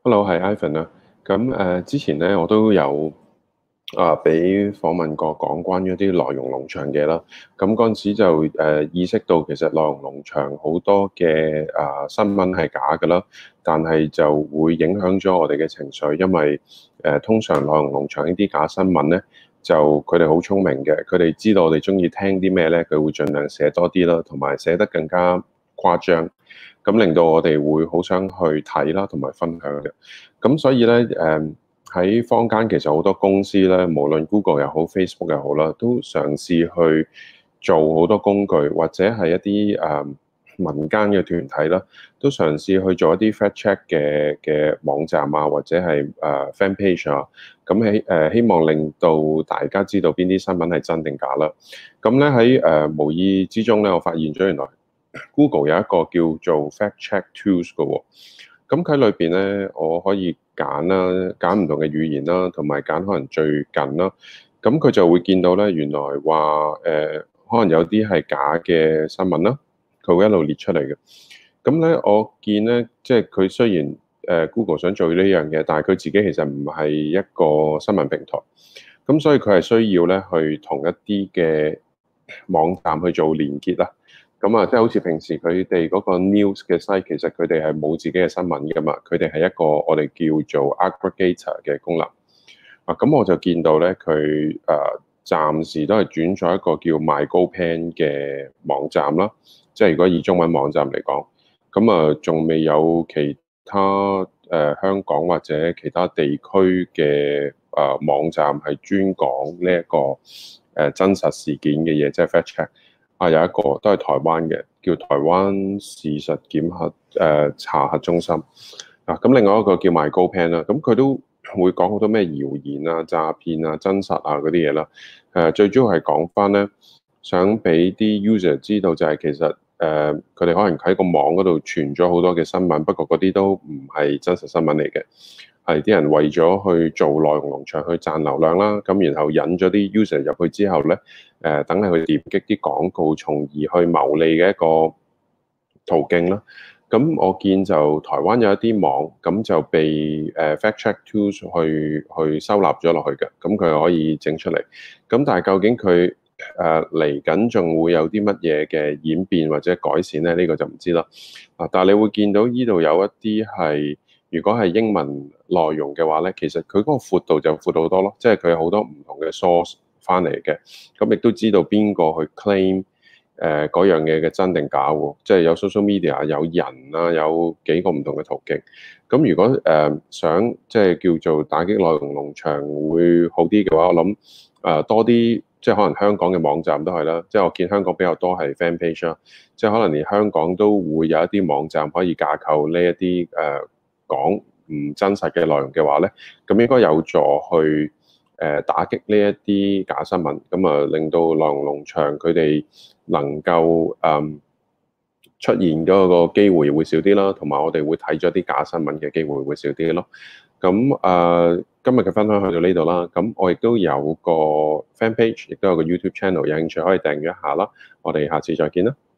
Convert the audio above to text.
Hello，係 Ivan 啊。之前咧我都有俾訪問過講關於一啲內容農場嘅啦。咁嗰陣時就意識到其實內容農場好多嘅新聞係假㗎啦，但係就會影響咗我哋嘅情緒，因為通常內容農場呢啲假新聞咧，就佢哋好聰明嘅，佢哋知道我哋中意聽啲咩咧，佢會盡量寫多啲啦，同埋寫得更加誇張。咁令到我哋會好想去睇啦，同埋分享嘅。咁所以咧，喺坊間其實好多公司咧，無論 Google 又好、Facebook 又好啦，都嘗試去做好多工具，或者係一啲民間嘅團體啦，都嘗試去做一啲 fact check 嘅網站啊，或者係fan page 啊。希望令到大家知道邊啲新聞係真定假啦。咁咧喺無意之中咧，我發現咗原來 Google 有一個叫做 Fact Check Tools 嘅喎。咁佢裏邊咧，我可以揀啦，揀唔同嘅語言啦，同埋揀可能最近啦。咁佢就會見到咧，原來話可能有啲係假嘅新聞啦，佢會一路列出嚟嘅。咁咧，我見咧，即係佢雖然Google 想做呢樣嘢，但係佢自己其實唔係一個新聞平台。咁所以佢係需要咧去同一啲嘅網站去做連結啦。即係好似平時佢哋嗰個 news 嘅 site，其實佢哋係冇自己嘅新聞噶嘛，佢哋係一個我哋叫做 aggregator 嘅功能。咁我就見到咧，佢暫時都係轉咗一個叫 MyGoPen 嘅網站啦。即係如果以中文網站嚟講，仲未有其他香港或者其他地區嘅網站係專講呢一個真實事件嘅嘢，即係 fact check。有一個都係台灣嘅，叫台灣事實檢核查核中心。咁另外一個叫 MyGoPen 啦，咁佢都會講好多咩謠言啊、詐騙啊、真實啊嗰啲嘢啦。最主要係講翻咧，想俾啲 user 知道就係其實佢哋可能喺個網嗰度傳咗好多嘅新聞，不過嗰啲都唔係真實新聞嚟嘅。係啲人為咗去做內容農場去賺流量啦，咁然後引咗啲 user 入去之後咧，等係去點擊啲廣告，從而去牟利嘅一個途徑啦。咁我見就台灣有一啲網，咁就被Fact Check Tools 去收納咗落去嘅，咁佢可以整出嚟。咁但係究竟佢嚟緊仲會有啲乜嘢嘅演變或者改善咧？呢個就唔知啦。但係你會見到呢度有一啲係，如果係英文內容嘅話咧，其實佢嗰個闊度就闊好多咯，即係佢有好多唔同嘅 source 翻嚟嘅，咁亦都知道邊個去 claim 嗰樣嘢嘅真定假喎，即係有 social media 有人啊，有幾個唔同嘅途徑。咁如果想即係叫做打擊內容農場會好啲嘅話，我諗多啲即係可能香港嘅網站都係啦，即係我見香港比較多係 fan page 啦，即係可能連香港都會有一啲網站可以架構呢一啲講唔真實嘅內容嘅話咧，咁應該有助去打擊呢一啲假新聞，令到內容農場佢哋能夠出現嗰個機會會少啲啦，同埋我哋會睇咗啲假新聞嘅機會會少啲咯。今日嘅分享去到呢度啦。咁我亦都有個 fan page，亦都有個 YouTube channel，有興趣可以訂閱一下啦。我哋下次再見啦。